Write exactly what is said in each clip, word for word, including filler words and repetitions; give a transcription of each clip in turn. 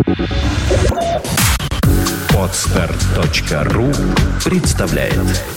Подстар точка ру представляет.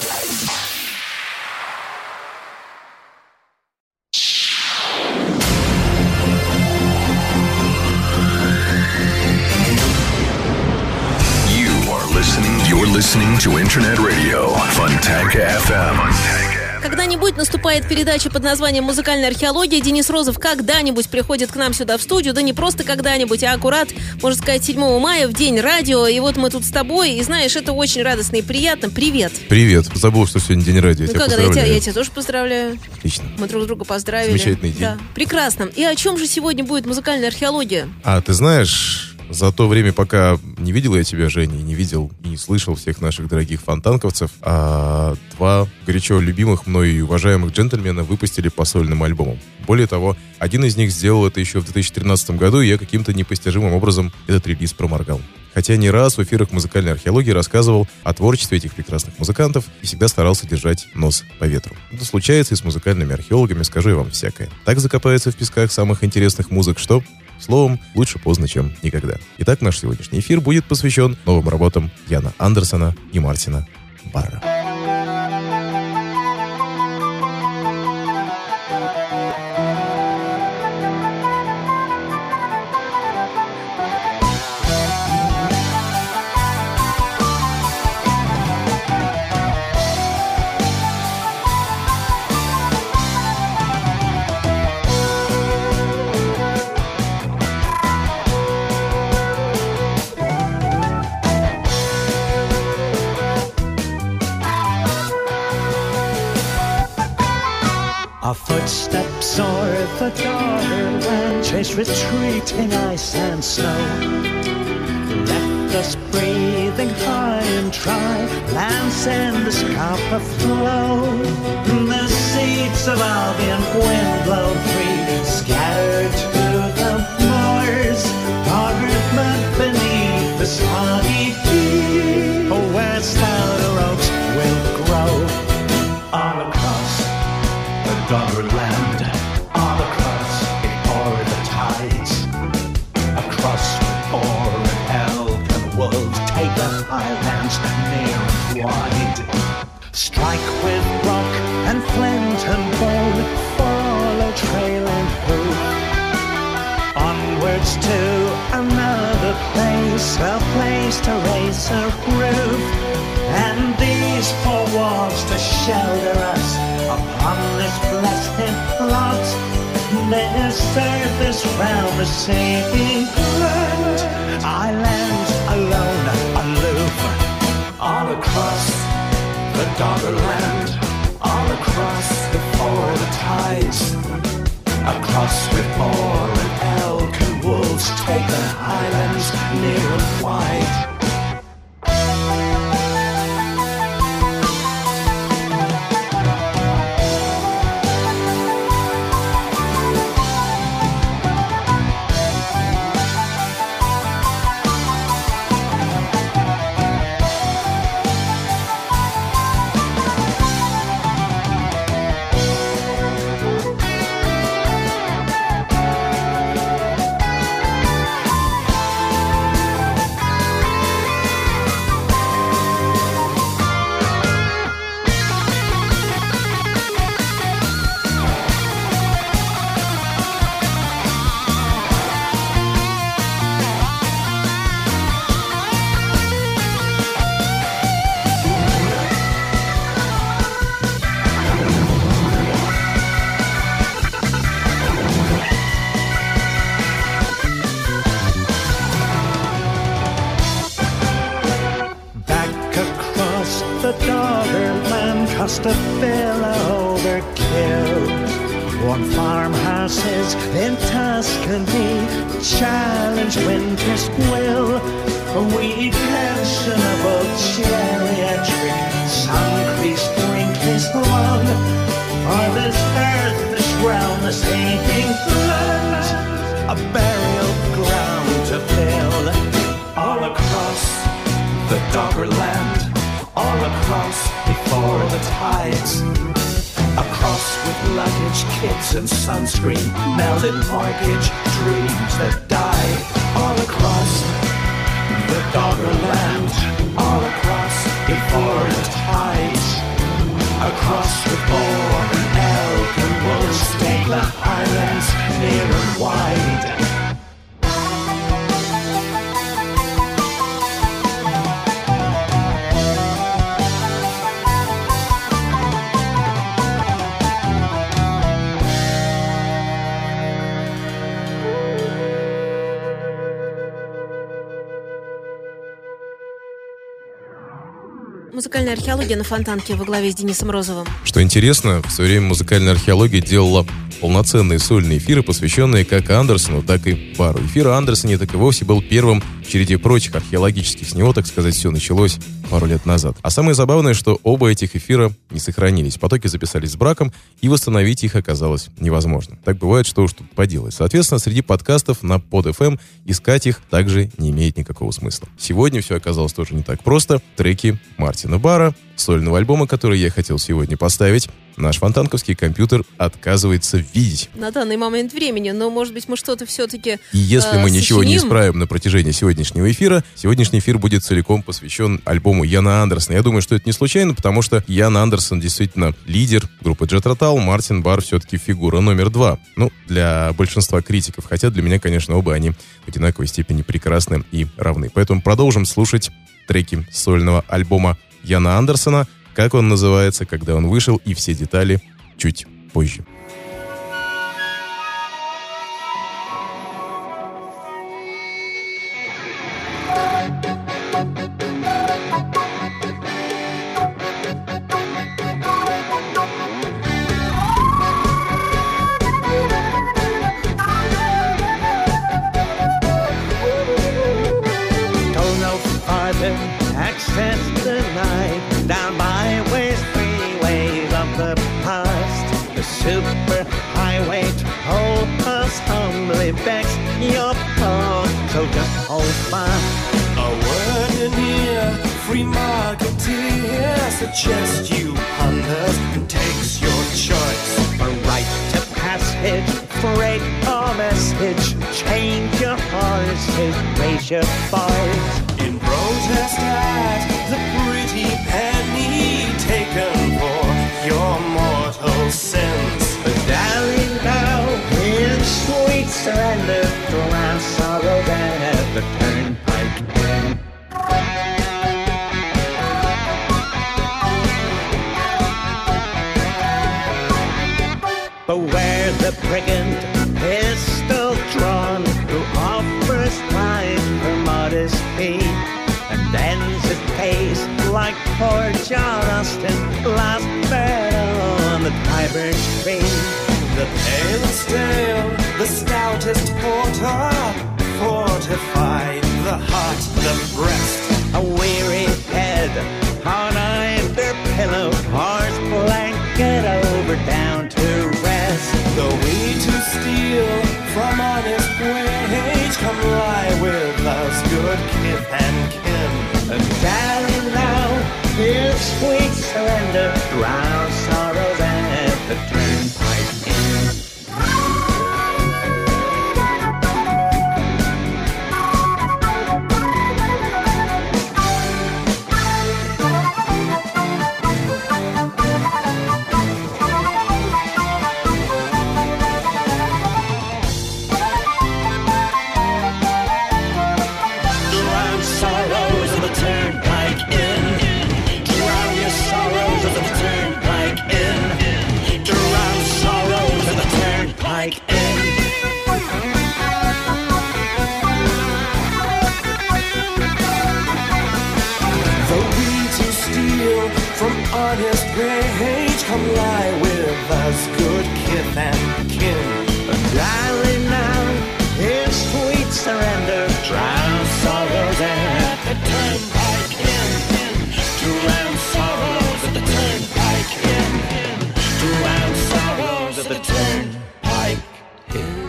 You are listening, you're listening to Internet Radio Fontanka эф эм. Когда-нибудь наступает передача под названием «Музыкальная археология». Денис Розов когда-нибудь приходит к нам сюда в студию. Да не просто когда-нибудь, а аккурат, можно сказать, седьмого мая, в день радио. И вот мы тут с тобой. И знаешь, это очень радостно и приятно. Привет. Привет. Забыл, что сегодня день радио. Ну Я как, тебя я тебя, поздравляю. я тебя тоже поздравляю. Отлично. Мы друг друга поздравили. Замечательный день. Да. Прекрасно. И о чем же сегодня будет музыкальная археология? А ты знаешь, за то время, пока не видел я тебя, Женя, и не видел, и не слышал всех наших дорогих фонтанковцев, а два горячо любимых мной и уважаемых джентльмена выпустили по сольным альбомам. Более того, один из них сделал это еще в две тысячи тринадцатом году, и я каким-то непостижимым образом этот релиз проморгал. Хотя не раз в эфирах музыкальной археологии рассказывал о творчестве этих прекрасных музыкантов и всегда старался держать нос по ветру. Это случается и с музыкальными археологами, скажу я вам всякое. Так закопается в песках самых интересных музык, что... Словом, лучше поздно, чем никогда. Итак, наш сегодняшний эфир будет посвящен новым работам Яна Андерсона и Мартина Барра. Our footsteps o'er the Doggerland chase retreating ice and snow. Left us breathing high and dry, lands in the scarpa flow. The seeds of Albion wind blow free, scattered to the moors. Doggered mud beneath the soggy deep, where stouter oaks will grow. All across Doggerland, all across before the tides, across before elk and wolves take the highlands near and wide. Strike with rock and flint and bone, follow trail and hoof. Onwards to another place, a place to raise a roof, and these four walls to shelter us upon this blessed plot. Their surface round the saving land, islands alone, aloof. All across the Doggerland, all across before the tides, across before an elk and wolves take the highlands near and wide. A fellow overkill. Warm farmhouses in Tuscany challenge winter's will. We pensionable geriatric sun-creased wrinkles long. For this earth, this realm, this aching land, a burial ground to fill. All across the Doggerland, all across before the tides, across with luggage, kids and sunscreen, melted mortgage, dreams that die. All across Doggerland, all across before the tides. Across the boar and elk and wolves, take the highlands near and wide. Музыкальная археология на Фонтанке во главе с Денисом Розовым. Что интересно, в свое время музыкальная археология делала полноценные сольные эфиры, посвященные как Андерсону, так и Барру. Эфир о Андерсоне так и вовсе был первым в череде прочих археологических. С него, так сказать, все началось пару лет назад. А самое забавное, что оба этих эфира не сохранились. Потоки записались с браком, и восстановить их оказалось невозможно. Так бывает, что уж тут поделать. Соответственно, среди подкастов на под эф эм искать их также не имеет никакого смысла. Сегодня все оказалось тоже не так просто. Треки Мартина Барра, сольного альбома, который я хотел сегодня поставить, наш фонтанковский компьютер отказывается видеть. На данный момент времени, но, может быть, мы что-то все-таки И если э, мы ничего сочиним. не исправим на протяжении сегодняшнего эфира, сегодняшний эфир будет целиком посвящен альбому Яна Андерсона. Я думаю, что это не случайно, потому что Ян Андерсон действительно лидер группы Jethro Tull, Мартин Барр все-таки фигура номер два. Ну, для большинства критиков, хотя для меня, конечно, оба они в одинаковой степени прекрасны и равны. Поэтому продолжим слушать треки сольного альбома Яна Андерсона, как он называется, когда он вышел, и все детали чуть позже. Access denied, down byways, freeways of the past. The super highway toll us humbly begs your paw, so just hold fast. A word in here, free marketeer suggests you ponders and takes your choice. A right to passage, freight or message, change your horses, raise your boys. In protest at the pretty penny taken for your mortal sins. But darling, now in sweet surrender, drown sorrow at the turnpike end. Beware the brigand, pistol drawn, who offers prize for modest fee, and ends his case like poor John Austin, last bird on the Tyburn stream. The pale and stale, the stoutest porter, fortify the heart, the breast. A weary head on either pillow, horse blanket over down to rest. The way to steal from honest wage, come lie with us, good kith and kin. And darling, now in sweet surrender, drown sorrows at the turnpike inn. Honest rage, come lie with us, good kith and kin. Darling, now in sweet surrender, drown sorrows at the turnpike inn. Drown sorrows at the turnpike inn. Drown sorrows at the turnpike inn.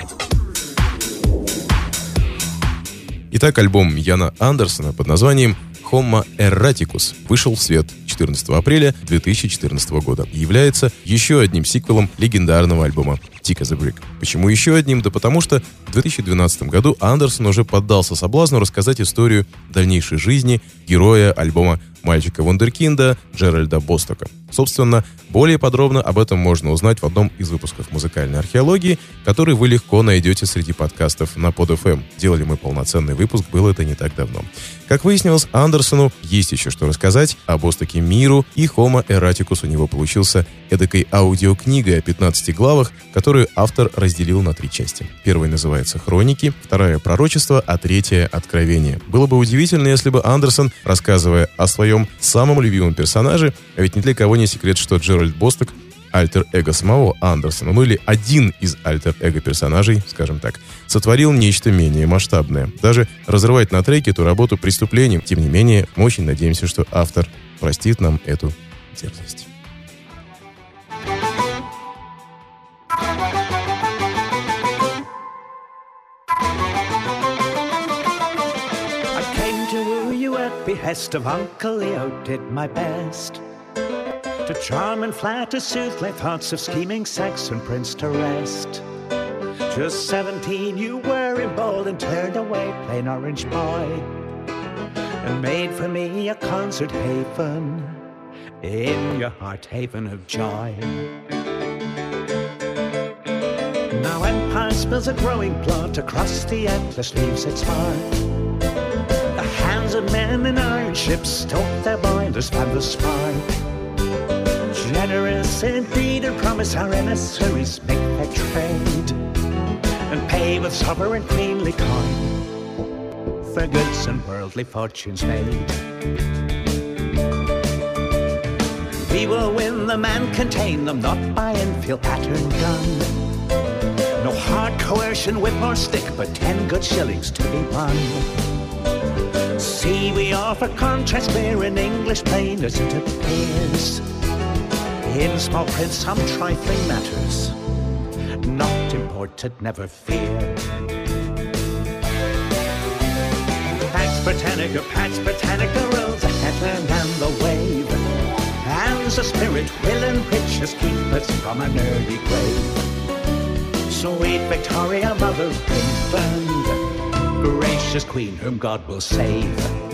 Итак, альбом Яна Андерсона под названием Homo Erraticus вышел в свет четырнадцатого апреля две тысячи четырнадцатого года и является еще одним сиквелом легендарного альбома Tick as a Brick. Почему еще одним? Да потому что в две тысячи двенадцатом году Андерсон уже поддался соблазну рассказать историю дальнейшей жизни героя альбома «Мальчика Вундеркинда» Джеральда Бостока. Собственно, более подробно об этом можно узнать в одном из выпусков «Музыкальной археологии», который вы легко найдете среди подкастов на под эф эм. Делали мы полноценный выпуск, было это не так давно. Как выяснилось, Андерсону есть еще что рассказать о Бостоке миру, и Homo Erraticus у него получился эдакой аудиокнигой о пятнадцати главах, которую автор разделил на три части. Первая называется «Хроники», вторая «Пророчество», а третья «Откровение». Было бы удивительно, если бы Андерсон, рассказывая о своем самом любимом персонаже, а ведь ни для кого не секрет, что Джеральд Босток — альтер-эго самого Андерсона, ну или один из альтер-эго персонажей, скажем так, сотворил нечто менее масштабное. Даже разрывать на треке эту работу преступлением. Тем не менее, мы очень надеемся, что автор простит нам эту дерзость. Behest of Uncle Leo did my best to charm and flatter, soothe my thoughts of scheming Saxon prince to rest. Just seventeen you were emboldened, turned away plain orange boy, and made for me a concert haven in your heart haven of joy. Now empire spills a growing blood across the Atlas, leaves its mark. The hands of men in iron ships stoke their boilers, fan the spark. Generous indeed, and promise our emissaries make their trade, and pay with sovereign queenly coin for goods and worldly fortunes made. We will win them and contain them, not by infield pattern gun. No hard coercion, whip or stick, but ten good shillings to be won. See, we offer contrast clear in English plain as it appears. In small print some trifling matters, not imported, never fear. Pax Britannica, Pax Britannica rules the headland and the wave, and the spirit will and riches keep us from an early grave. Sweet Victoria, mother of England, gracious queen whom God will save.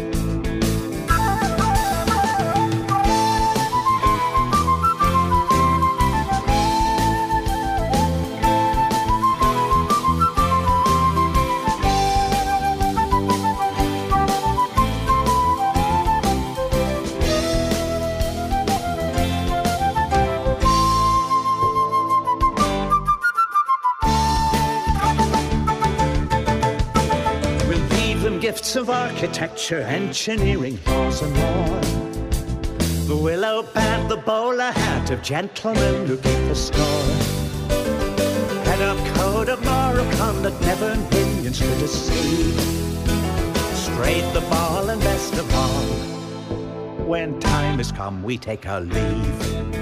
Gifts of architecture, engineering, laws and more. The willow pad, the bowler hat of gentlemen who keep the score. Head up code of moral conduct, never millions to deceive. Straight the ball and best of all, when time has come we take our leave.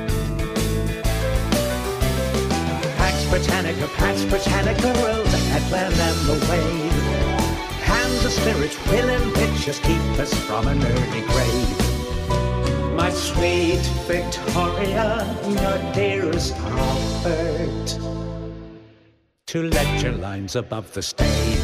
Pax Britannica, Pax Britannica rules the headland and the wave. Hands of spirit will and pictures keep us from an early grave. My sweet Victoria, your dearest comfort, to lecture lines above the stage.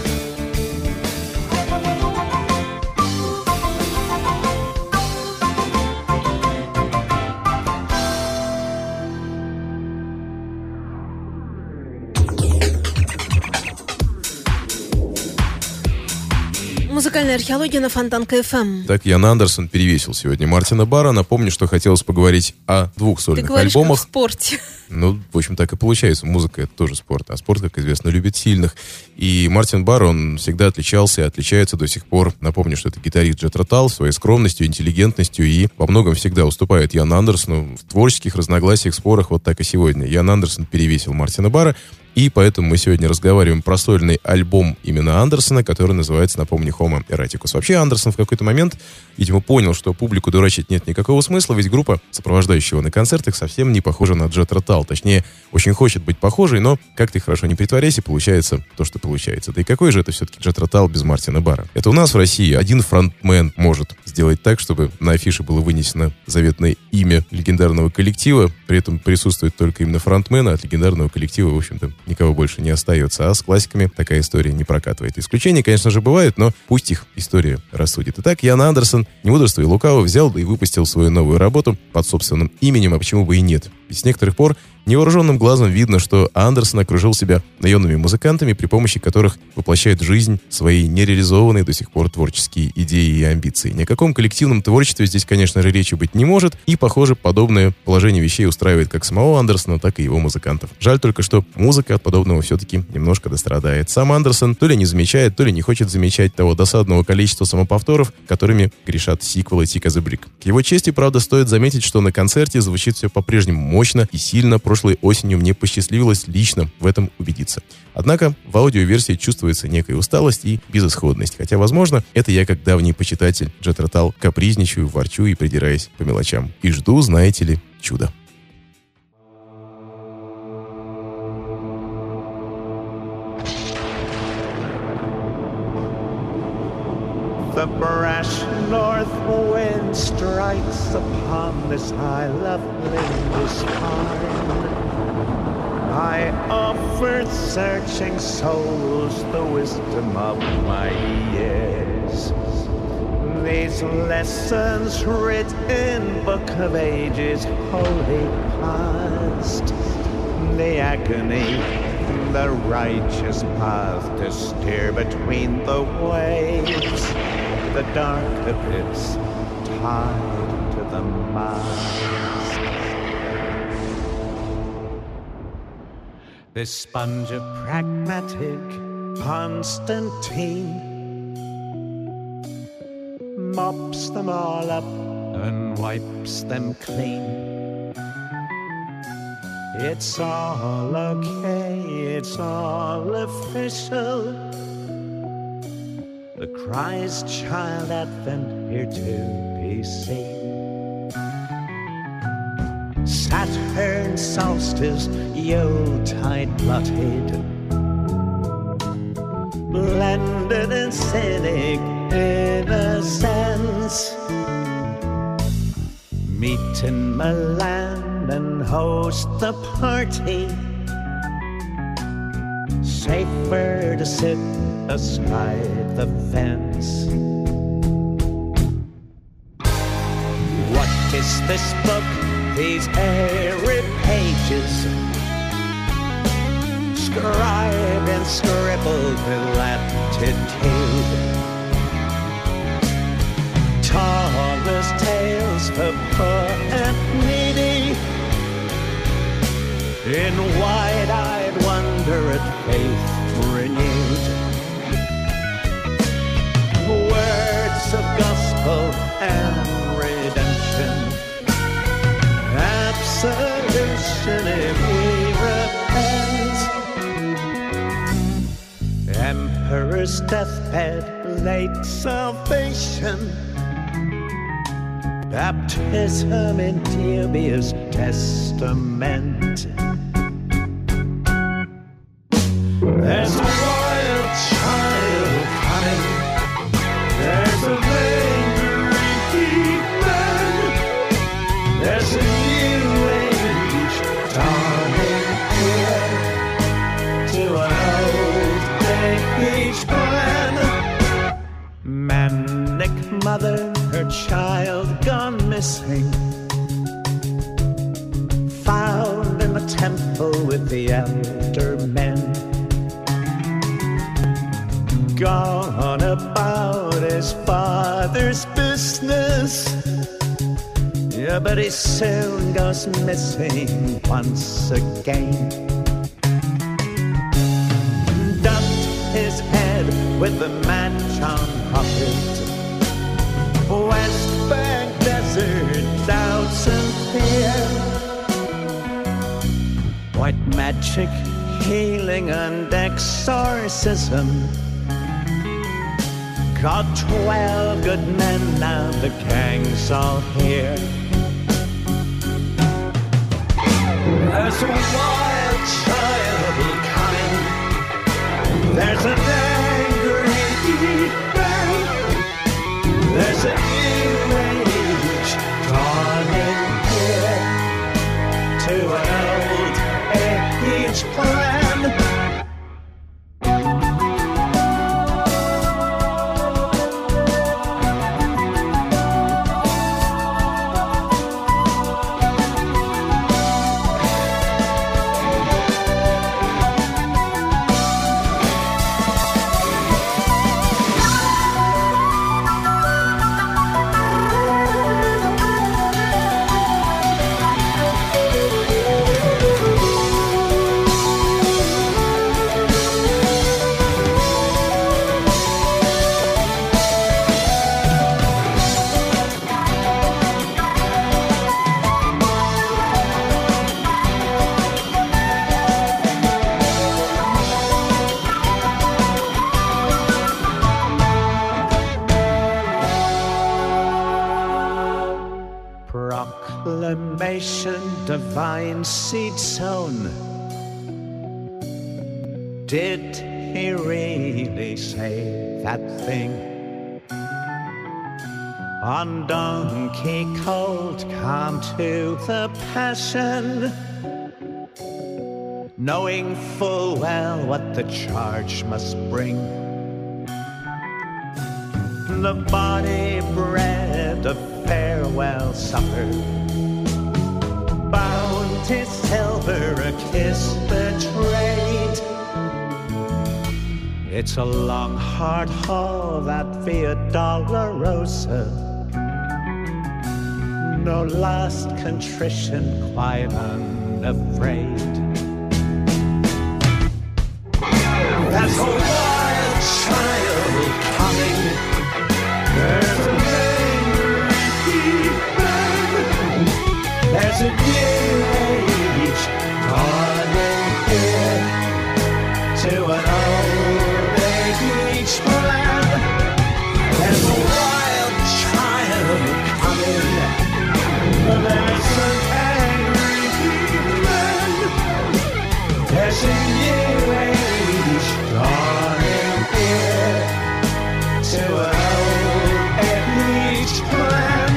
Музыкальная археология на Фонтанка эф эм. Так, Ян Андерсон перевесил сегодня Мартина Барра. Напомню, что хотелось поговорить о двух сольных Ты говоришь, альбомах. Как в спорте. Ну, в общем, так и получается. Музыка — это тоже спорт. А спорт, как известно, любит сильных. И Мартин Барр, он всегда отличался и отличается до сих пор. Напомню, что это гитарист Джethro Tull, своей скромностью, интеллигентностью, и во многом всегда уступает Яну Андерсону в творческих разногласиях, спорах. Вот так и сегодня. Ян Андерсон перевесил Мартина Барра. И поэтому мы сегодня разговариваем про сольный альбом именно Андерсона, который называется, напомню, Homo Eroticus. Вообще Андерсон в какой-то момент, видимо, понял, что публику дурачить нет никакого смысла, ведь группа, сопровождающая его на концертах, совсем не похожа на Jethro Tull. Точнее, очень хочет быть похожей, но как ты хорошо не притворяйся, получается то, что получается. Да и какой же это все-таки Jethro Tull без Мартина Барра? Это у нас в России один фронтмен может сделать так, чтобы на афише было вынесено заветное имя легендарного коллектива, при этом присутствует только именно фронтмен, а от легендарного коллектива, в общем-то, никого больше не остается. А с классиками такая история не прокатывает. Исключения, конечно же, бывают, но пусть их история рассудит. Итак, Ян Андерсон, не мудрствуя лукаво, взял и выпустил свою новую работу под собственным именем, а почему бы и нет. Ведь с некоторых пор невооруженным глазом видно, что Андерсон окружил себя наемными музыкантами, при помощи которых воплощает в жизнь свои нереализованные до сих пор творческие идеи и амбиции. Ни о каком коллективном творчестве здесь, конечно же, речи быть не может, и, похоже, подобное положение вещей устраивает как самого Андерсона, так и его музыкантов. Жаль только, что музыка от подобного все-таки немножко дострадает. Сам Андерсон то ли не замечает, то ли не хочет замечать того досадного количества самоповторов, которыми грешат сиквелы Tick as a Brick. К его чести, правда, стоит заметить, что на концерте звучит все по-прежнему мощно и сильно. Прошлой осенью мне посчастливилось лично в этом убедиться. Однако в аудиоверсии чувствуется некая усталость и безысходность. Хотя, возможно, это я, как давний почитатель Jethro Tull, капризничаю, ворчу и придираюсь по мелочам. И жду, знаете ли, чуда. The brash north wind strikes upon this isle of Lindisfarne. I offered searching souls the wisdom of my years. These lessons writ in book of ages wholly past. The agony, the righteous path to steer between the waves. The dark abyss tied to the mast. This sponge of pragmatic Constantine mops them all up and wipes them clean. It's all okay, it's all official. The Christ child advent here to be seen. Saturn solstice, Yuletide blotted, blended and cynic innocence. Meet in Milan and host the party. Safer to sit astride the fence. What is this book, these airy pages, scribed and scribbled with latitude? Tallest tales for poor and needy, in wide-eyed wonder at faith renewed. Words of gospel and redemption, absolution if we repent. Emperor's deathbed, late salvation, baptism in dubious testament. There's a royal child coming. There's a lingering man. There's a new age dawning here to an old age plan. Manic mother, her child gone missing, found in the temple with the elder men. Gone about his father's business, yeah, but he soon goes missing once again. Dumped his head with the match on pocket, West Bank desert, doubts and fear. White magic healing and exorcism. Got twelve good men, now the gang's all here. There's a wild child coming. There's an angry man. There's a new age dawning here. To an old age plan. Proclamation, divine seed sown. Did he really say that thing? On donkey colt, come to the passion, knowing full well what the charge must bring. The body bread of farewell supper, bounty silver, a kiss betrayed. It's a long hard haul, that Via Dolorosa. No last contrition, quite unafraid. There's a wild child coming. There's an angry man. There's a new age dawning here. To an old age plan. There's a wild child coming. There's an angry man. There's a new age dawning here. To an old age plan.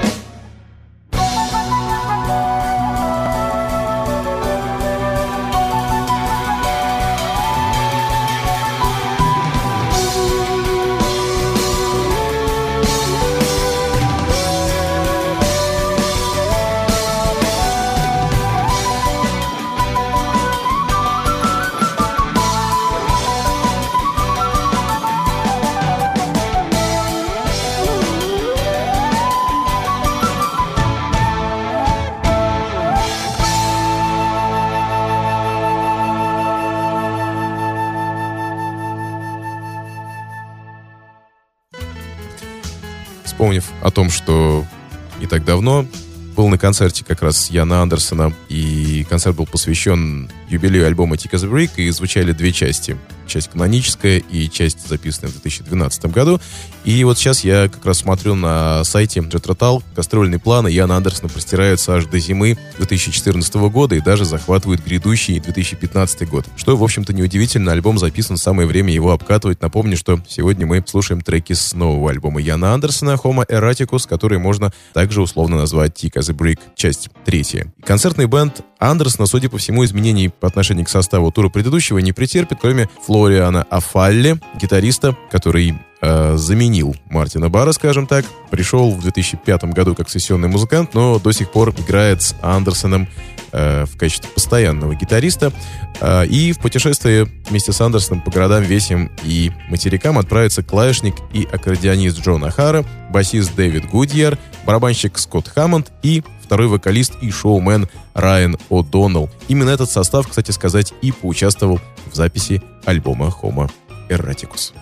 Вспомнив о том, что не так давно был на концерте как раз Яна Андерсона, и концерт был посвящен юбилею альбома Thick as a Brick, и звучали две части. Часть каноническая и часть, записанная в две тысячи двенадцатом году. И вот сейчас я как раз смотрю на сайте Jethro Tull. Гастрольные планы Яна Андерсона простираются аж до зимы две тысячи четырнадцатого года и даже захватывают грядущий две тысячи пятнадцатый год. Что, в общем-то, неудивительно. Альбом записан, самое время его обкатывать. Напомню, что сегодня мы слушаем треки с нового альбома Яна Андерсона Homo Erraticus, который можно также условно назвать Thick as a Brick, часть третья. Концертный бэнд Андерсона, судя по всему, изменений по отношению к составу тура предыдущего не претерпит, кроме Флориана Афалли, гитариста, который э, заменил Мартина Барра, скажем так. Пришел в две тысячи пятом году как сессионный музыкант, но до сих пор играет с Андерсоном э, в качестве постоянного гитариста. Э, и в путешествие вместе с Андерсоном по городам, весям и материкам отправится клавишник и аккордеонист Джон Охара, басист Дэвид Гудьер, барабанщик Скотт Хаммонд и второй вокалист и шоумен Райан О'Доннелл. Именно этот состав, кстати сказать, и поучаствовал в записи альбома Homo Erraticus.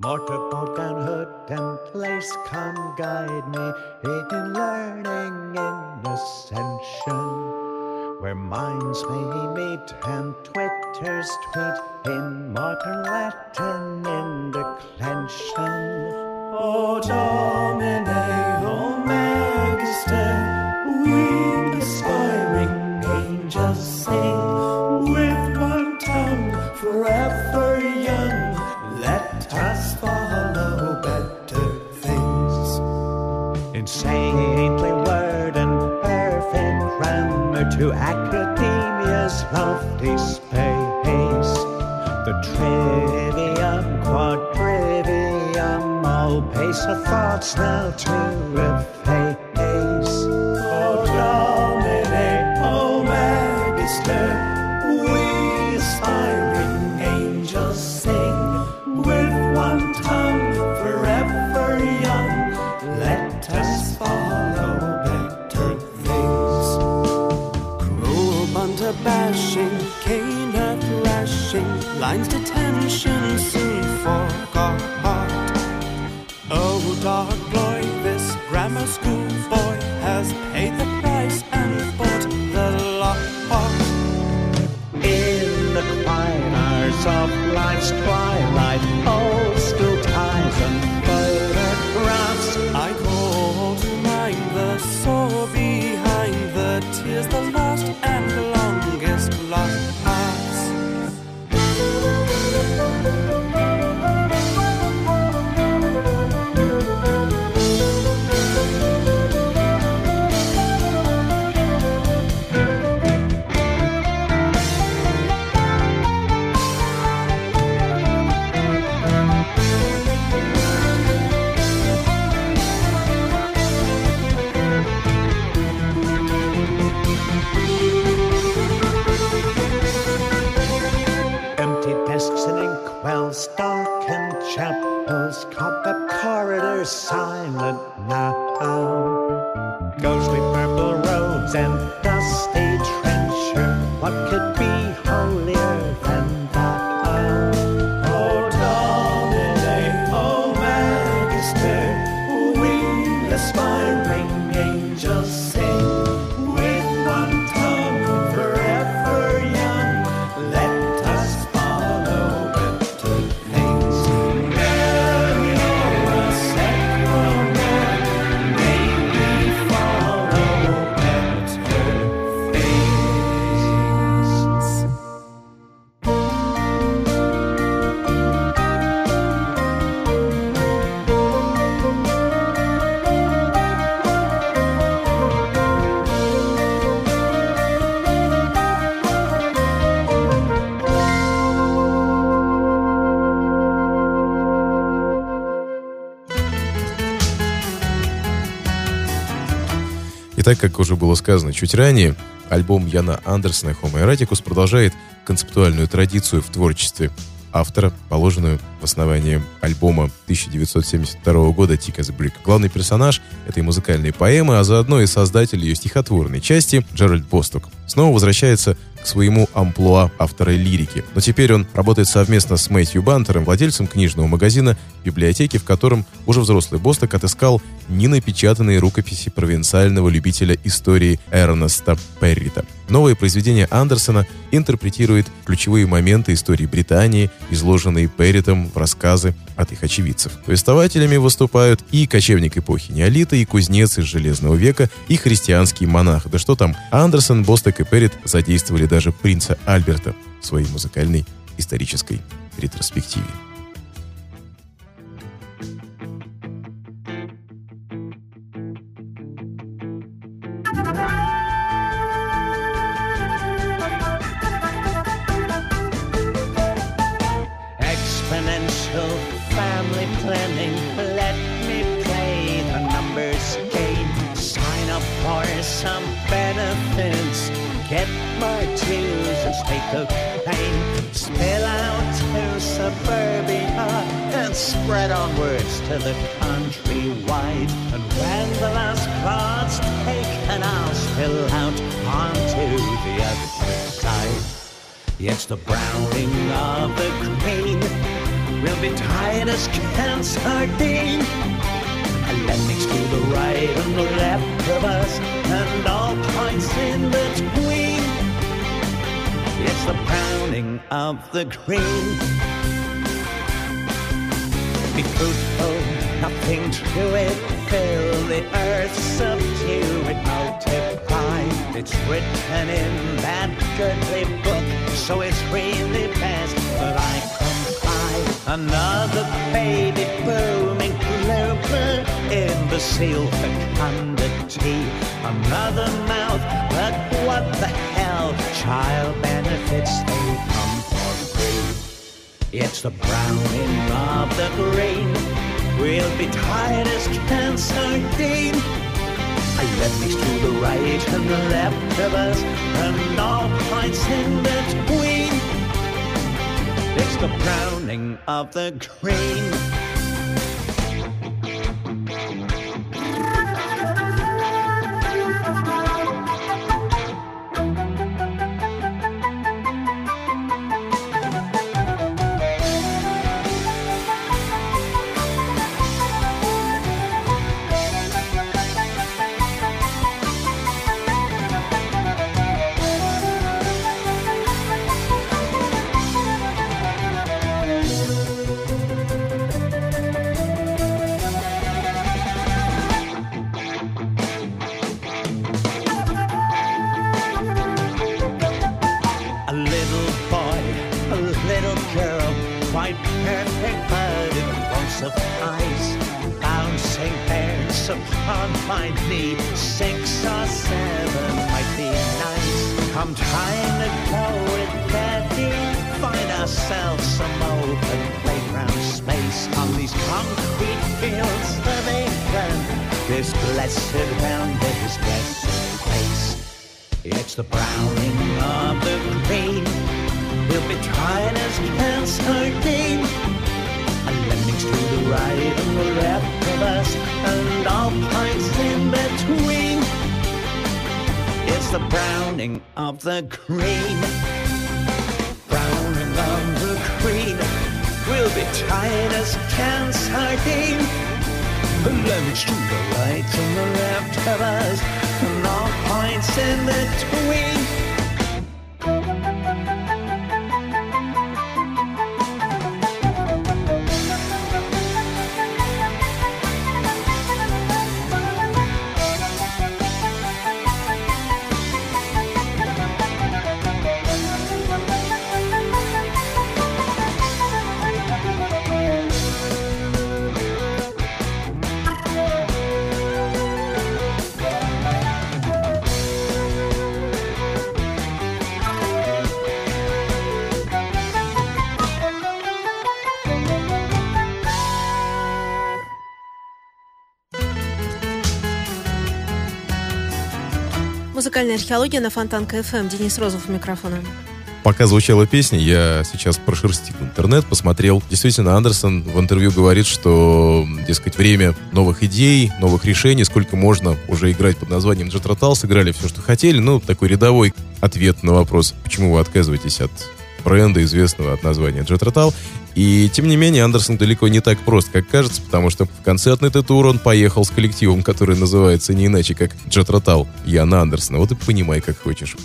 Mortarboard and hood and place, come guide me in learning in ascension, where minds may meet and twitters tweet in modern Latin in declension. O Domine, O Magister, we aspiring angels sing, with one tongue forever young, let us follow better things. In saintly word and perfect grammar, to academia's lofty space, the trivium, quadrivium, all pace of thoughts now to efface. O Domine, O Magister, we aspiring angels sing, with one tongue forever young, let us follow better things. Cruel bunter bashing, cane at lashing, lines detention soon forgot. Oh, dark boy, this grammar school boy has paid the price and bought the lot. In the quiet hours of life's twilight, old school ties and photographs, I call to mind the sorrow behind the tears, the lost and longest lost. Darkened chapels, cobweb corridors silent now, ghostly purple roads and dusty trencher, what could be holier than that? Oh Domine, O Magister, we aspiring angels sing, with one tongue forever young, let us follow better things. Mary, a sacrament, may we follow better things. Итак, как уже было сказано чуть ранее, альбом Яна Андерсона «Homo Eroticus» продолжает концептуальную традицию в творчестве автора, положенную в основание альбома тысяча девятьсот семьдесят второго года «Thick as a Brick». Главный персонаж этой музыкальной поэмы, а заодно и создатель ее стихотворной части, Джеральд Босток, снова возвращается к своему амплуа автора лирики. Но теперь он работает совместно с Мэтью Бантером, владельцем книжного магазина, библиотеки, в котором уже взрослый Босток отыскал ненапечатанные рукописи провинциального любителя истории Эрнеста Перрита. Новое произведение Андерсона интерпретирует ключевые моменты истории Британии, изложенные Перритом в рассказы от их очевидцев. Повествователями выступают и кочевник эпохи неолита, и кузнец из Железного века, и христианский монах. Да что там, Андерсон, Босток и Перрит задействовали даже принца Альберта в своей музыкальной исторической ретроспективе. Exponential family planning, let me play the numbers game. Sign up for some benefits, get my dues and stay cocaine. Spill out to suburbia and spread onwards to the countrywide. And when the last plot's taken, I'll spill out onto the other side. Yes, the browning of the green will be tight as can sardine. Atlantic's to the right and the left of us, and all points in between. It's the browning of the green. Be fruitful, nothing to it. Fill the earth, subdue it, multiply. It's written in that goodly book, so it's really best that I comply. Another baby booming blooper in the seal fecundity. Another mouth, but what the hell? Child benefits, they come for free. It's the browning of the grain. We'll be tired as can sardine. Atlantic's to the right and the left of us, and all points in between. It's the browning of the grain. Upon my knee, six or seven might be nice. Come time to go with Daddy, find ourselves some open playground space on these concrete fields of England. This blessed round, this blessed place. It's the browning of the green. We'll be tired as can sardine. Atlantic's to the right and the left of us, and all points in between. It's the browning of the green. Browning of the green. We'll be tired as can sardine. Atlantic's to the right and the left of us, and all points in between. Музыкальная археология на Фонтанка эф эм. Денис Розов у микрофона. Пока звучала песня, я сейчас прошерстил интернет, посмотрел. Действительно, Андерсон в интервью говорит, что, дескать, время новых идей, новых решений, сколько можно уже играть под названием Jethro Tull, сыграли все, что хотели. Ну, такой рядовой ответ на вопрос, почему вы отказываетесь от бренда, известного от названия Jethro Tull. И, тем не менее, Андерсон далеко не так прост, как кажется, потому что в концертный тур он поехал с коллективом, который называется не иначе, как Jethro Tull Яна Андерсона. Вот и понимай, как хочешь.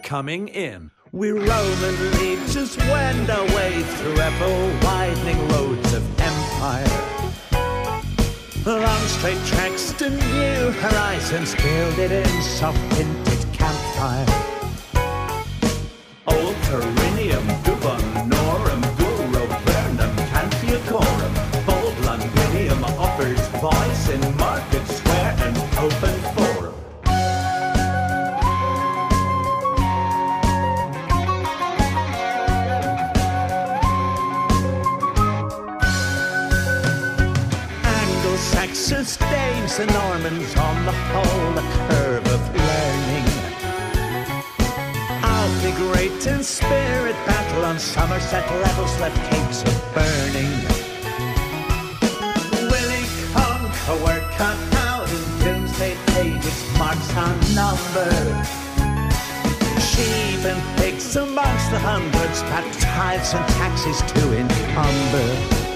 coming in. We Roman legions wend our way through ever-widening roads of empire. Long straight tracks to new horizons, gilded in soft tinted campfire. Old Perineum, Dubon, Norum, Guru, Vernum, Cantiacorum. Bold Londinium offers voice in market square and open forum. Saxons, Danes and Normans, on the whole a curve of learning. I'll be great in spirit battle on Somerset levels, left capes of burning. Willie Conquer were cut out in doomsday pages, marks unnumbered. Sheep and pigs amongst the hundreds, pat tithes and taxes to encumber.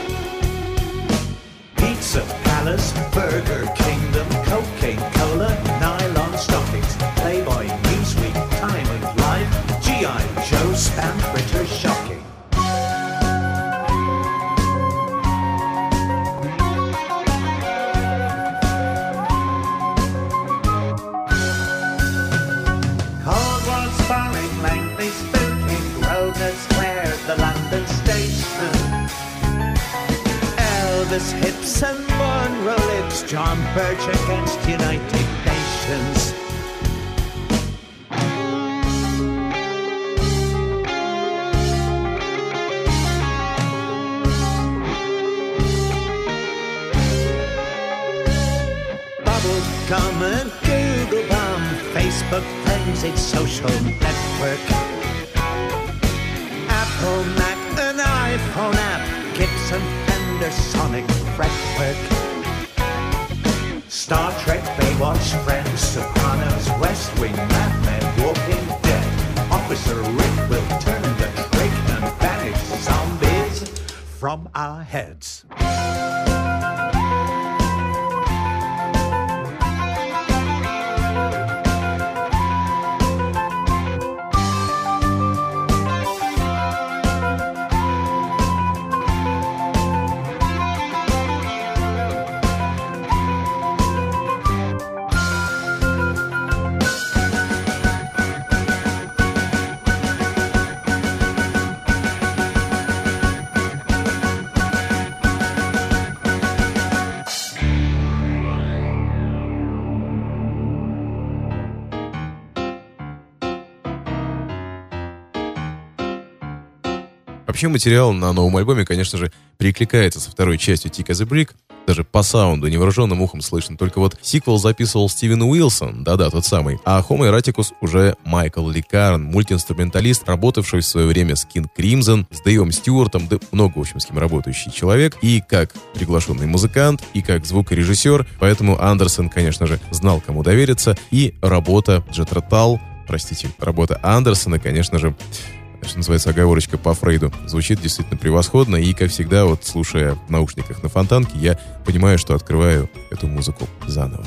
Pizza Palace, Burger Kingdom, cocaine, cola, nylon stockings, Playboy, Newsweek, Time of Life, G I Joe, spam fritter, shocking. Cold War sparring, Langley spooking, Grosvenor Square, the London station. Elvis hips and Monroe lips, John Birch against United Nations. Bubblegum and Google bomb, Facebook frenzied social network. Apple, Mac, an iPhone app, Gibson, Sonic fretwork. Star Trek, Baywatch, Friends, Sopranos, West Wing, Mad Men, Walking Dead. Officer Rick will turn the trick and banish zombies from our heads. Вообще материал на новом альбоме, конечно же, перекликается со второй частью Thick as a Brick. Даже по саунду невооруженным ухом слышно. Только вот сиквел записывал Стивен Уилсон, да-да, тот самый. А Homo Eroticus уже Майкл Ликарн, мультиинструменталист, работавший в свое время с King Crimson, с Дэйвом Стюартом, да много, в общем, с кем работающий человек. И как приглашенный музыкант, и как звукорежиссер. Поэтому Андерсон, конечно же, знал, кому довериться. И работа Джетро Тал, простите, работа Андерсона, конечно же, что называется, оговорочка по Фрейду, звучит действительно превосходно. И, как всегда, вот слушая в наушниках на Фонтанке, я понимаю, что открываю эту музыку заново.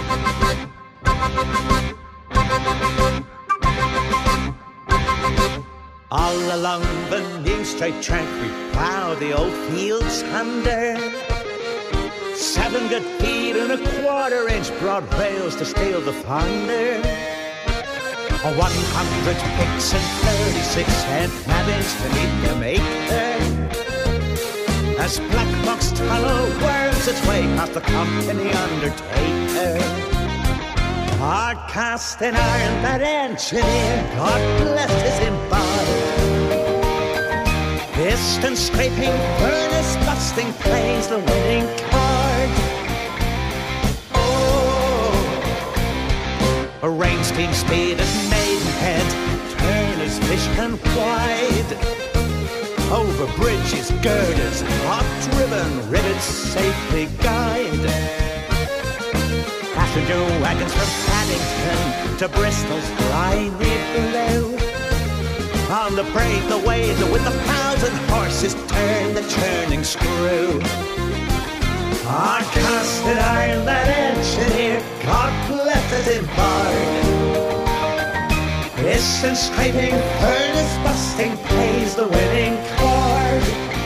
All along the new straight track we plow the old fields under. Seven good feet and a quarter inch broad rails to steal the thunder. One hundred picks and thirty-six cent navvies to meet the maker. As Black Box Tunnel worms its way past the company undertaker. Hard cast in iron, that engineer, God bless his embodied. Piston scraping, furnace busting, plays the winning card. A rain steam speed at Maidenhead, Turner's fish and wide. Over bridges, girders, hot ribbon, rivets safely guide. Passenger wagons from Paddington to Bristol's briny blue. On the brave, the waves with a thousand horses turn the churning screw. Our casted iron, that engineer, God bless his embark. His Piston scraping, furnace busting, plays the winning chord.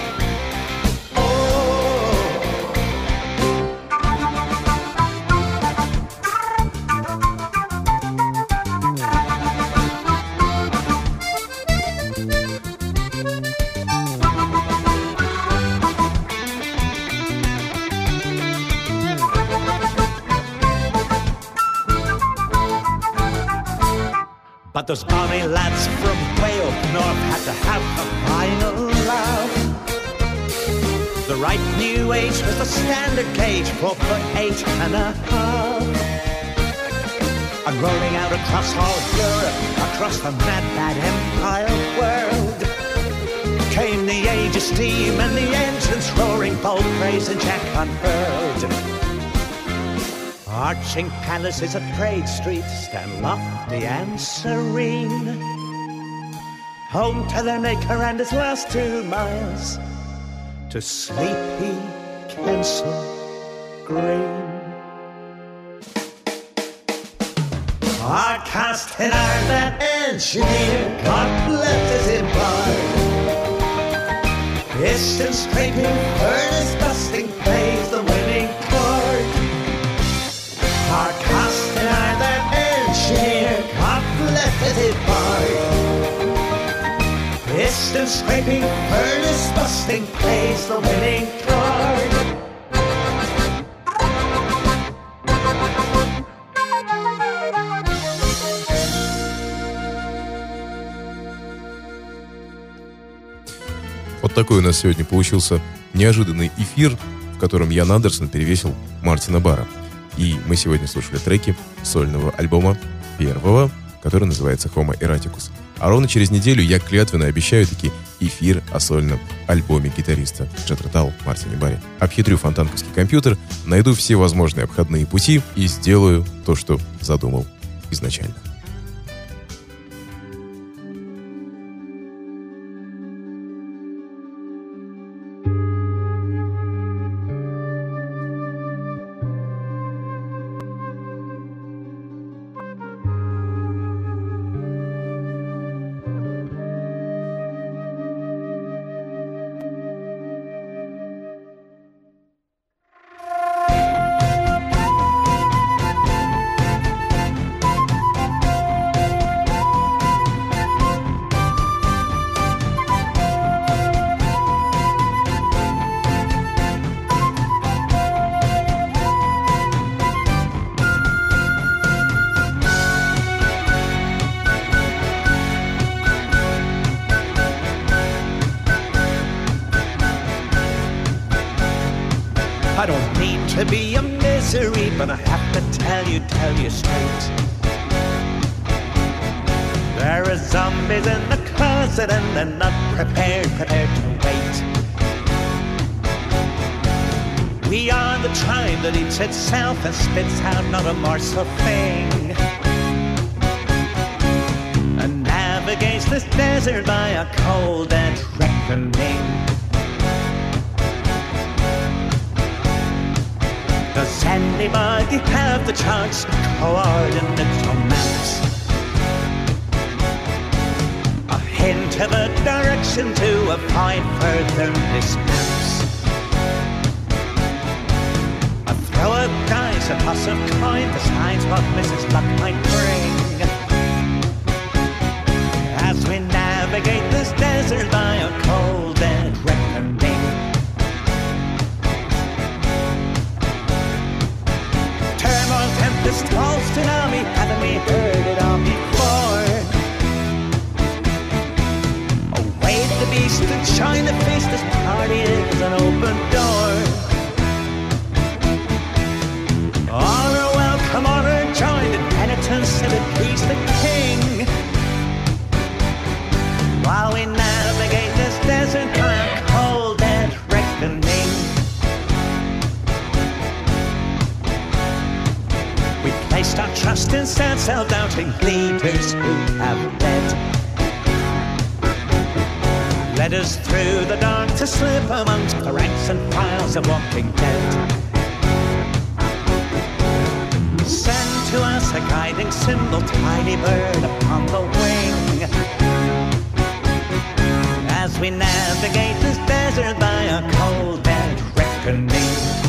But those bonny lads from way up north had to have a final love. The right new age was the standard gauge, four foot eight and a half. And rolling out across all Europe, across the mad, mad empire world, came the age of steam and the engines roaring, bold praise and Jack unfurled. Arching palaces at Prague Street stand lofty and serene, home to their maker and his last two miles to sleepy Kensal Green. Our cast in iron, that engineer, God bless his empire. Piston scraping, furnace busting, plays the winning chord. Our cast in iron, that engineer, God bless his empire. Piston scraping, furnace busting, plays the winning chord. Вот такой у нас сегодня получился неожиданный эфир, в котором Ян Андерсон перевесил Мартина Барра. И мы сегодня слушали треки сольного альбома первого, который называется Homo Eroticus. А ровно через неделю я клятвенно обещаю таки эфир о сольном альбоме гитариста Джethro Tull Мартине Барре. Обхитрю фонтанковский компьютер, найду все возможные обходные пути и сделаю то, что задумал изначально. I don't mean to be a misery, but I have to tell you, tell you straight. There are zombies in the closet and they're not prepared, prepared to wait. We are the tribe that eats itself and spits out not a morsel thing, and navigates this desert by a cold and reckoning. Does anybody have the chance to coordinate romance? A hint of a direction to avoid further mishaps. A throw of dice, a toss of coin decides what Missus Luck might bring, as we navigate this desert by a cold and reckoning. This tall tsunami, haven't we heard it all before? Await the beast and shine the feast, this party is an open door. All are welcome, all are joined in penitence and appease the king, while we navigate this desert by a cold and reckoning. Placed our trust in sad, self-doubting leaders who have led led us through the dark to slip amongst the ranks and files of walking dead. Send to us a guiding symbol, tiny bird upon the wing, as we navigate this desert by a cold dead reckoning.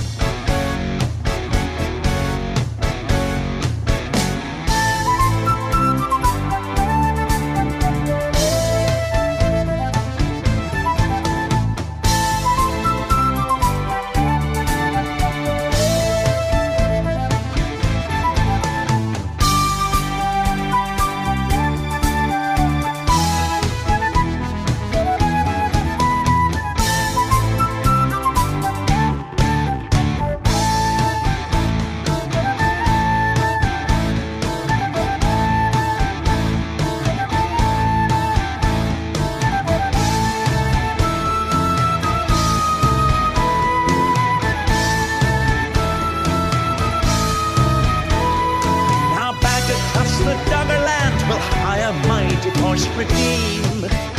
Redeem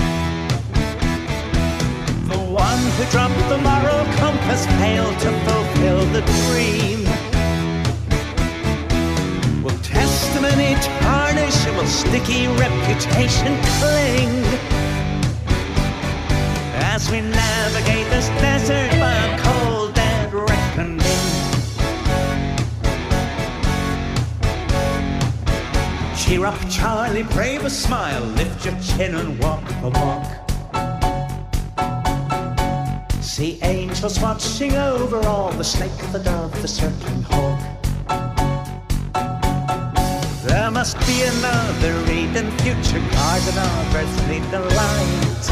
the one who dropped the moral compass, failed to fulfill the dream. Will testimony tarnish, will sticky reputation cling as we navigate this desert by a cold dead reckoning? Cheer up, Charlie, brave a smile, lift your chin and walk the walk. See angels watching over all, the snake, the dove, the circling hawk. There must be another Eden, future garden of earthly delight.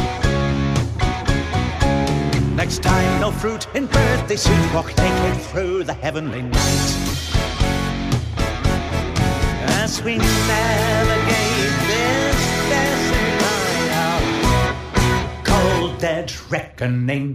Next time, no fruit in birthday suit, walk naked through the heavenly night. As we navigate this desert by a cold dead reckoning.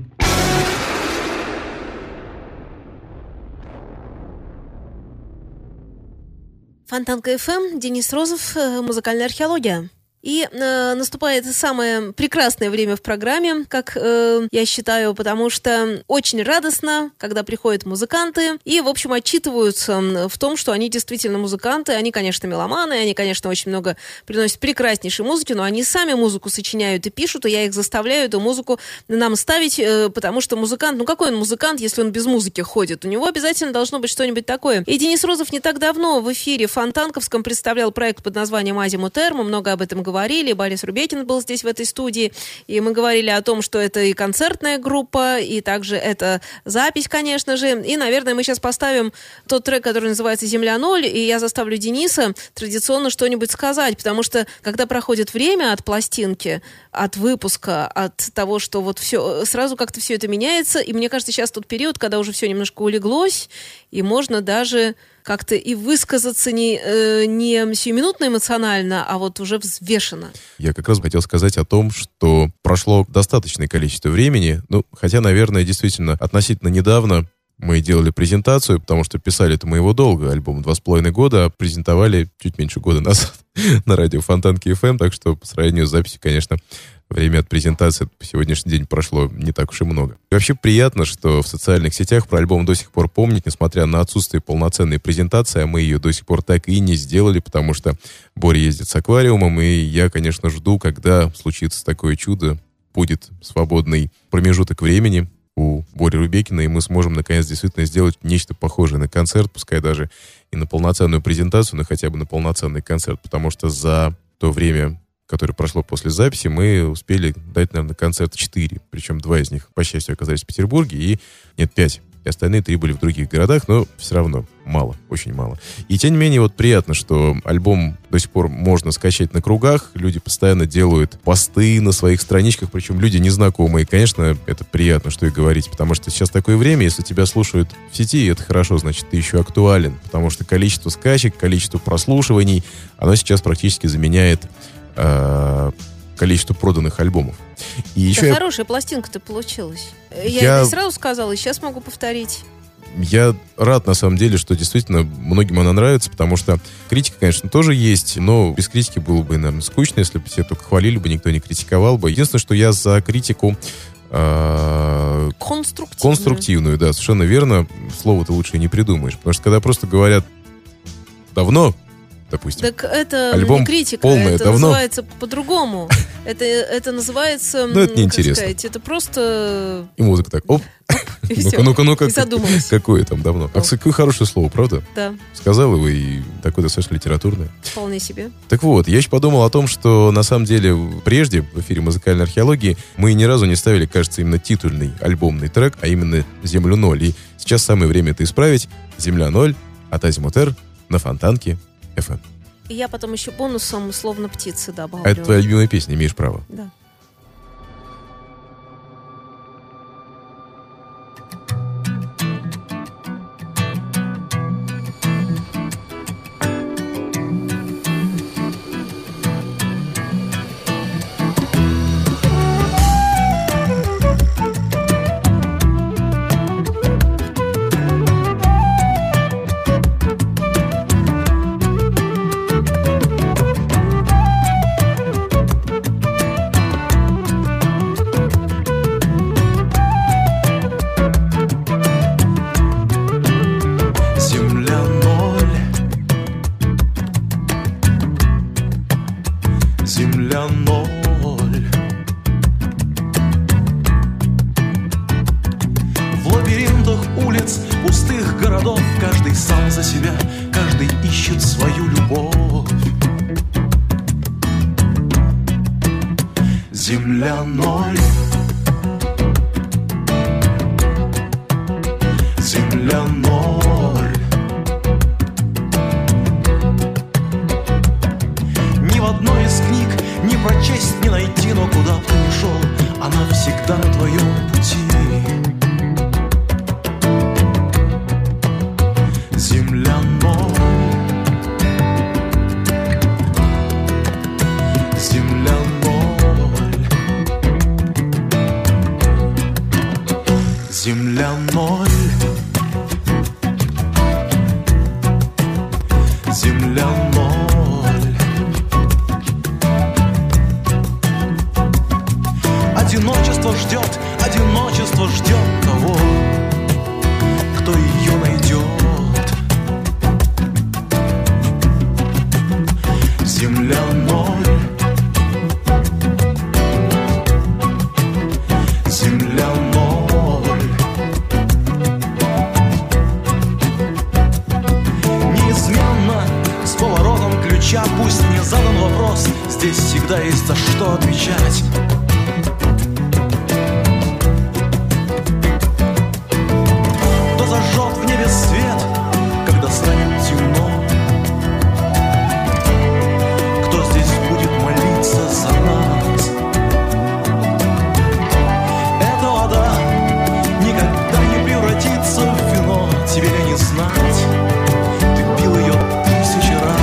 Фонтанка эф эм, Денис Розов, музыкальная археология. И э, наступает самое прекрасное время в программе, как э, я считаю, потому что очень радостно, когда приходят музыканты и, в общем, отчитываются в том, что они действительно музыканты. Они, конечно, меломаны, они, конечно, очень много приносят прекраснейшей музыки, но они сами музыку сочиняют и пишут, и я их заставляю эту музыку нам ставить, э, потому что музыкант, ну какой он музыкант, если он без музыки ходит? У него обязательно должно быть что-нибудь такое. И Денис Розов не так давно в эфире Фонтанковском представлял проект под названием «Азимутер», мы много об этом говорили, Борис Рубекин был здесь в этой студии, и мы говорили о том, что это и концертная группа, и также это запись, конечно же, и, наверное, мы сейчас поставим тот трек, который называется «Земля ноль», и я заставлю Дениса традиционно что-нибудь сказать, потому что, когда проходит время от пластинки, от выпуска, от того, что вот все, сразу как-то все это меняется, и мне кажется, сейчас тот период, когда уже все немножко улеглось, и можно даже как-то и высказаться не, э, не сиюминутно эмоционально, а вот уже взвешенно. Я как раз хотел сказать о том, что прошло достаточное количество времени, ну, хотя, наверное, действительно, относительно недавно мы делали презентацию, потому что писали это мы его долго, альбом два с половиной года, а презентовали чуть меньше года назад на радио Фонтанки эф эм, так что по сравнению с записью, конечно, время от презентации по сегодняшний день прошло не так уж и много. И вообще приятно, что в социальных сетях про альбом до сих пор помнят, несмотря на отсутствие полноценной презентации, а мы ее до сих пор так и не сделали, потому что Боря ездит с аквариумом, и я, конечно, жду, когда случится такое чудо, будет свободный промежуток времени у Бори Рубекина, и мы сможем, наконец, действительно сделать нечто похожее на концерт, пускай даже и на полноценную презентацию, но хотя бы на полноценный концерт, потому что за то время, которое прошло после записи, мы успели дать, наверное, концерт четыре. Причем два из них, по счастью, оказались в Петербурге, и нет, пять. И остальные три были в других городах, но все равно мало, очень мало. И тем не менее, вот приятно, что альбом до сих пор можно скачать на кругах. Люди постоянно делают посты на своих страничках, причем люди незнакомые. Конечно, это приятно, что и говорить, потому что сейчас такое время, если тебя слушают в сети, это хорошо, значит, ты еще актуален, потому что количество скачек, количество прослушиваний, оно сейчас практически заменяет э, количество проданных альбомов. И еще да я... хорошая пластинка-то получилась. Я, я... это и сразу сказала, и сейчас могу повторить. Я рад, на самом деле, что действительно многим она нравится, потому что критика, конечно, тоже есть, но без критики было бы, наверное, скучно, если бы все только хвалили бы, никто не критиковал бы. Единственное, что я за критику... Э, конструктивную. Конструктивную, да, совершенно верно. Слово-то лучше не придумаешь. Потому что когда просто говорят «давно», допустим. Так это Альбом не критика, полное это давно. называется по-другому. Это, это называется... Ну, это м, неинтересно. как сказать, это просто... И музыка так, оп, И ну-ка, всё. ну-ка, ну-ка. И задумалась. Какое там давно. А, какое хорошее слово, правда? Да, Сказал его, и такое достаточно литературное. вполне себе. Так вот, я еще подумал о том, что на самом деле прежде в эфире музыкальной археологии мы ни разу не ставили, кажется, именно титульный альбомный трек, а именно «Землю ноль». И сейчас самое время это исправить. «Земля ноль» от Азимутер на Фонтанке эф эм. И я потом еще бонусом «Словно птицы» добавлю. А это твоя любимая песня, имеешь право. Да. Земля ноль, земля ноль. В лабиринтах улиц, пустых городов каждый сам за себя, каждый ищет свою любовь. Земля ноль, земля ноль. Ни в одной из книг не прочесть, не найти, но куда бы ты ни шел, она всегда на твоем пути. Земля ноль, земля ноль, земля ноль. Земля ноль. Одиночество ждет, одиночество ждет того, кто ее найдет. Земля ноль. Земля ноль. Неизменно с поворотом ключа, пусть не задан вопрос, здесь всегда есть за что отвечать. Кто зажжет в небе свет, когда станет темно? Кто здесь будет молиться за нас? Эта вода никогда не превратится в вино, тебе не знать. Ты пил ее тысячи раз.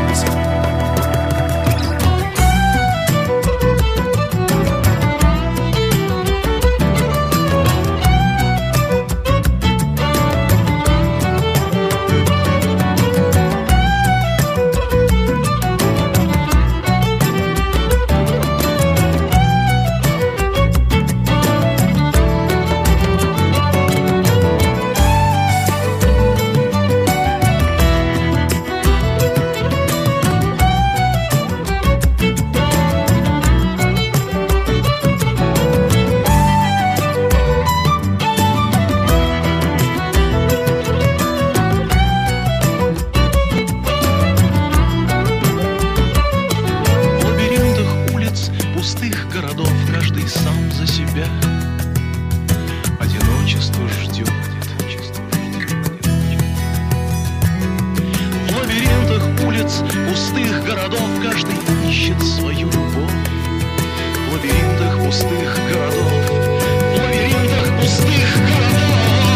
В лабиринтах улиц, пустых городов каждый сам за себя. Одиночество ждет. В лабиринтах улиц, пустых городов каждый ищет свою любовь. В лабиринтах пустых городов, в лабиринтах пустых городов.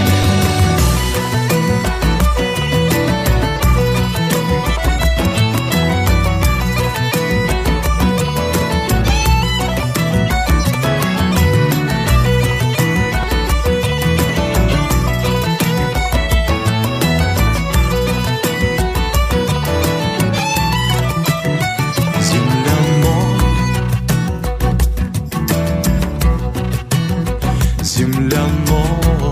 Земля ноль. Земля ноль.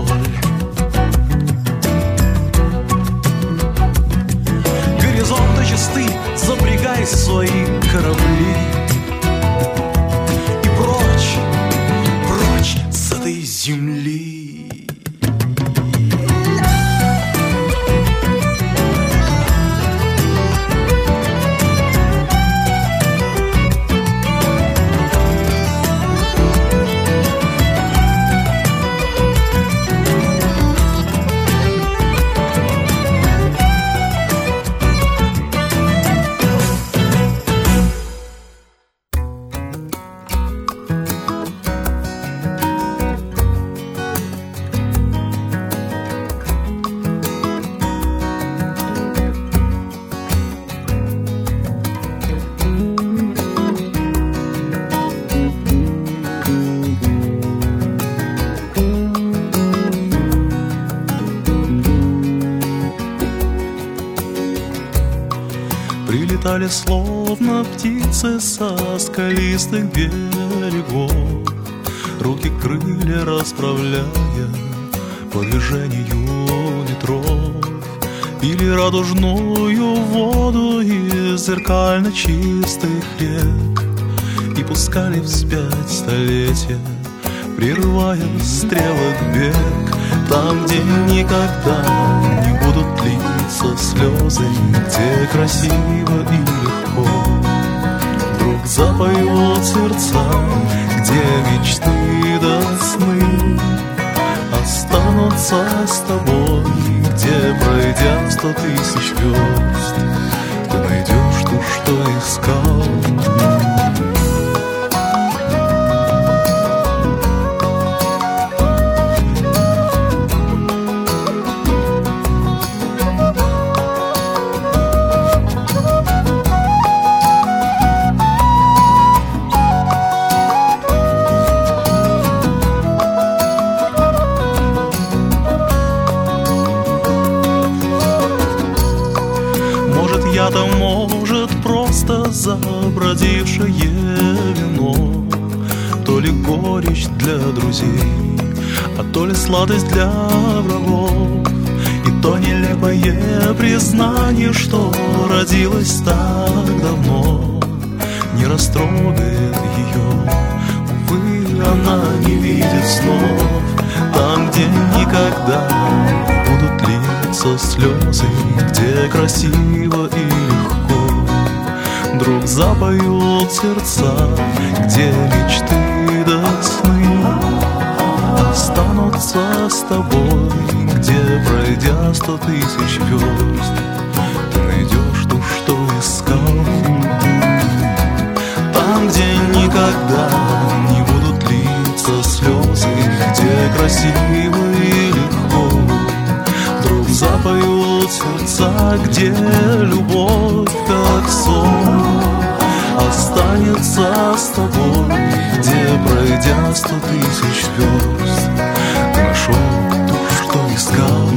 Прилетали словно птицы со скалистых берегов, руки крылья расправляя по движению ветров, пили радужную воду из зеркально чистых рек и пускали вспять столетия, прерывая стрелок бег. Там, где никогда не будут литься слезы, где красиво и легко вдруг запоют сердца, где мечты до сны останутся с тобой, где, пройдя сто тысяч верст, ты найдешь то, что искал. Я-то, может, просто забродившее вино, то ли горечь для друзей, а то ли сладость для врагов, и то нелепое признание, что родилось так давно, не растрогает ее. Увы, она не видит снов, там, где никогда не будут литься слезы, где красиво и легко вдруг запоют сердца, где мечты до сны останутся с тобой, где, пройдя сто тысяч верст, ты найдешь то, что искал. Там, где никогда не будут литься слезы, где красиво и легко вдруг запоют сердца, где любовь как сон останется с тобой, где, пройдя сто тысяч верст, ты нашел то, что искал.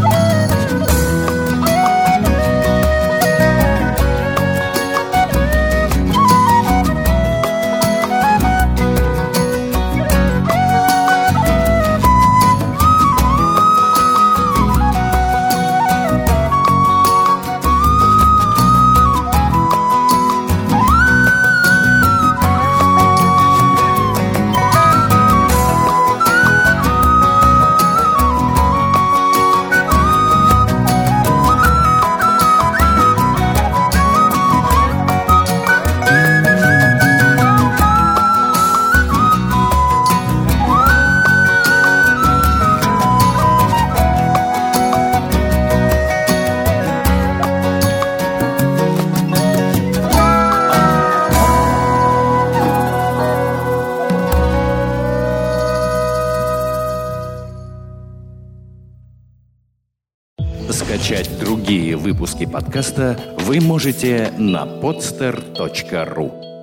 Скачать другие выпуски подкаста вы можете на podster точка ру.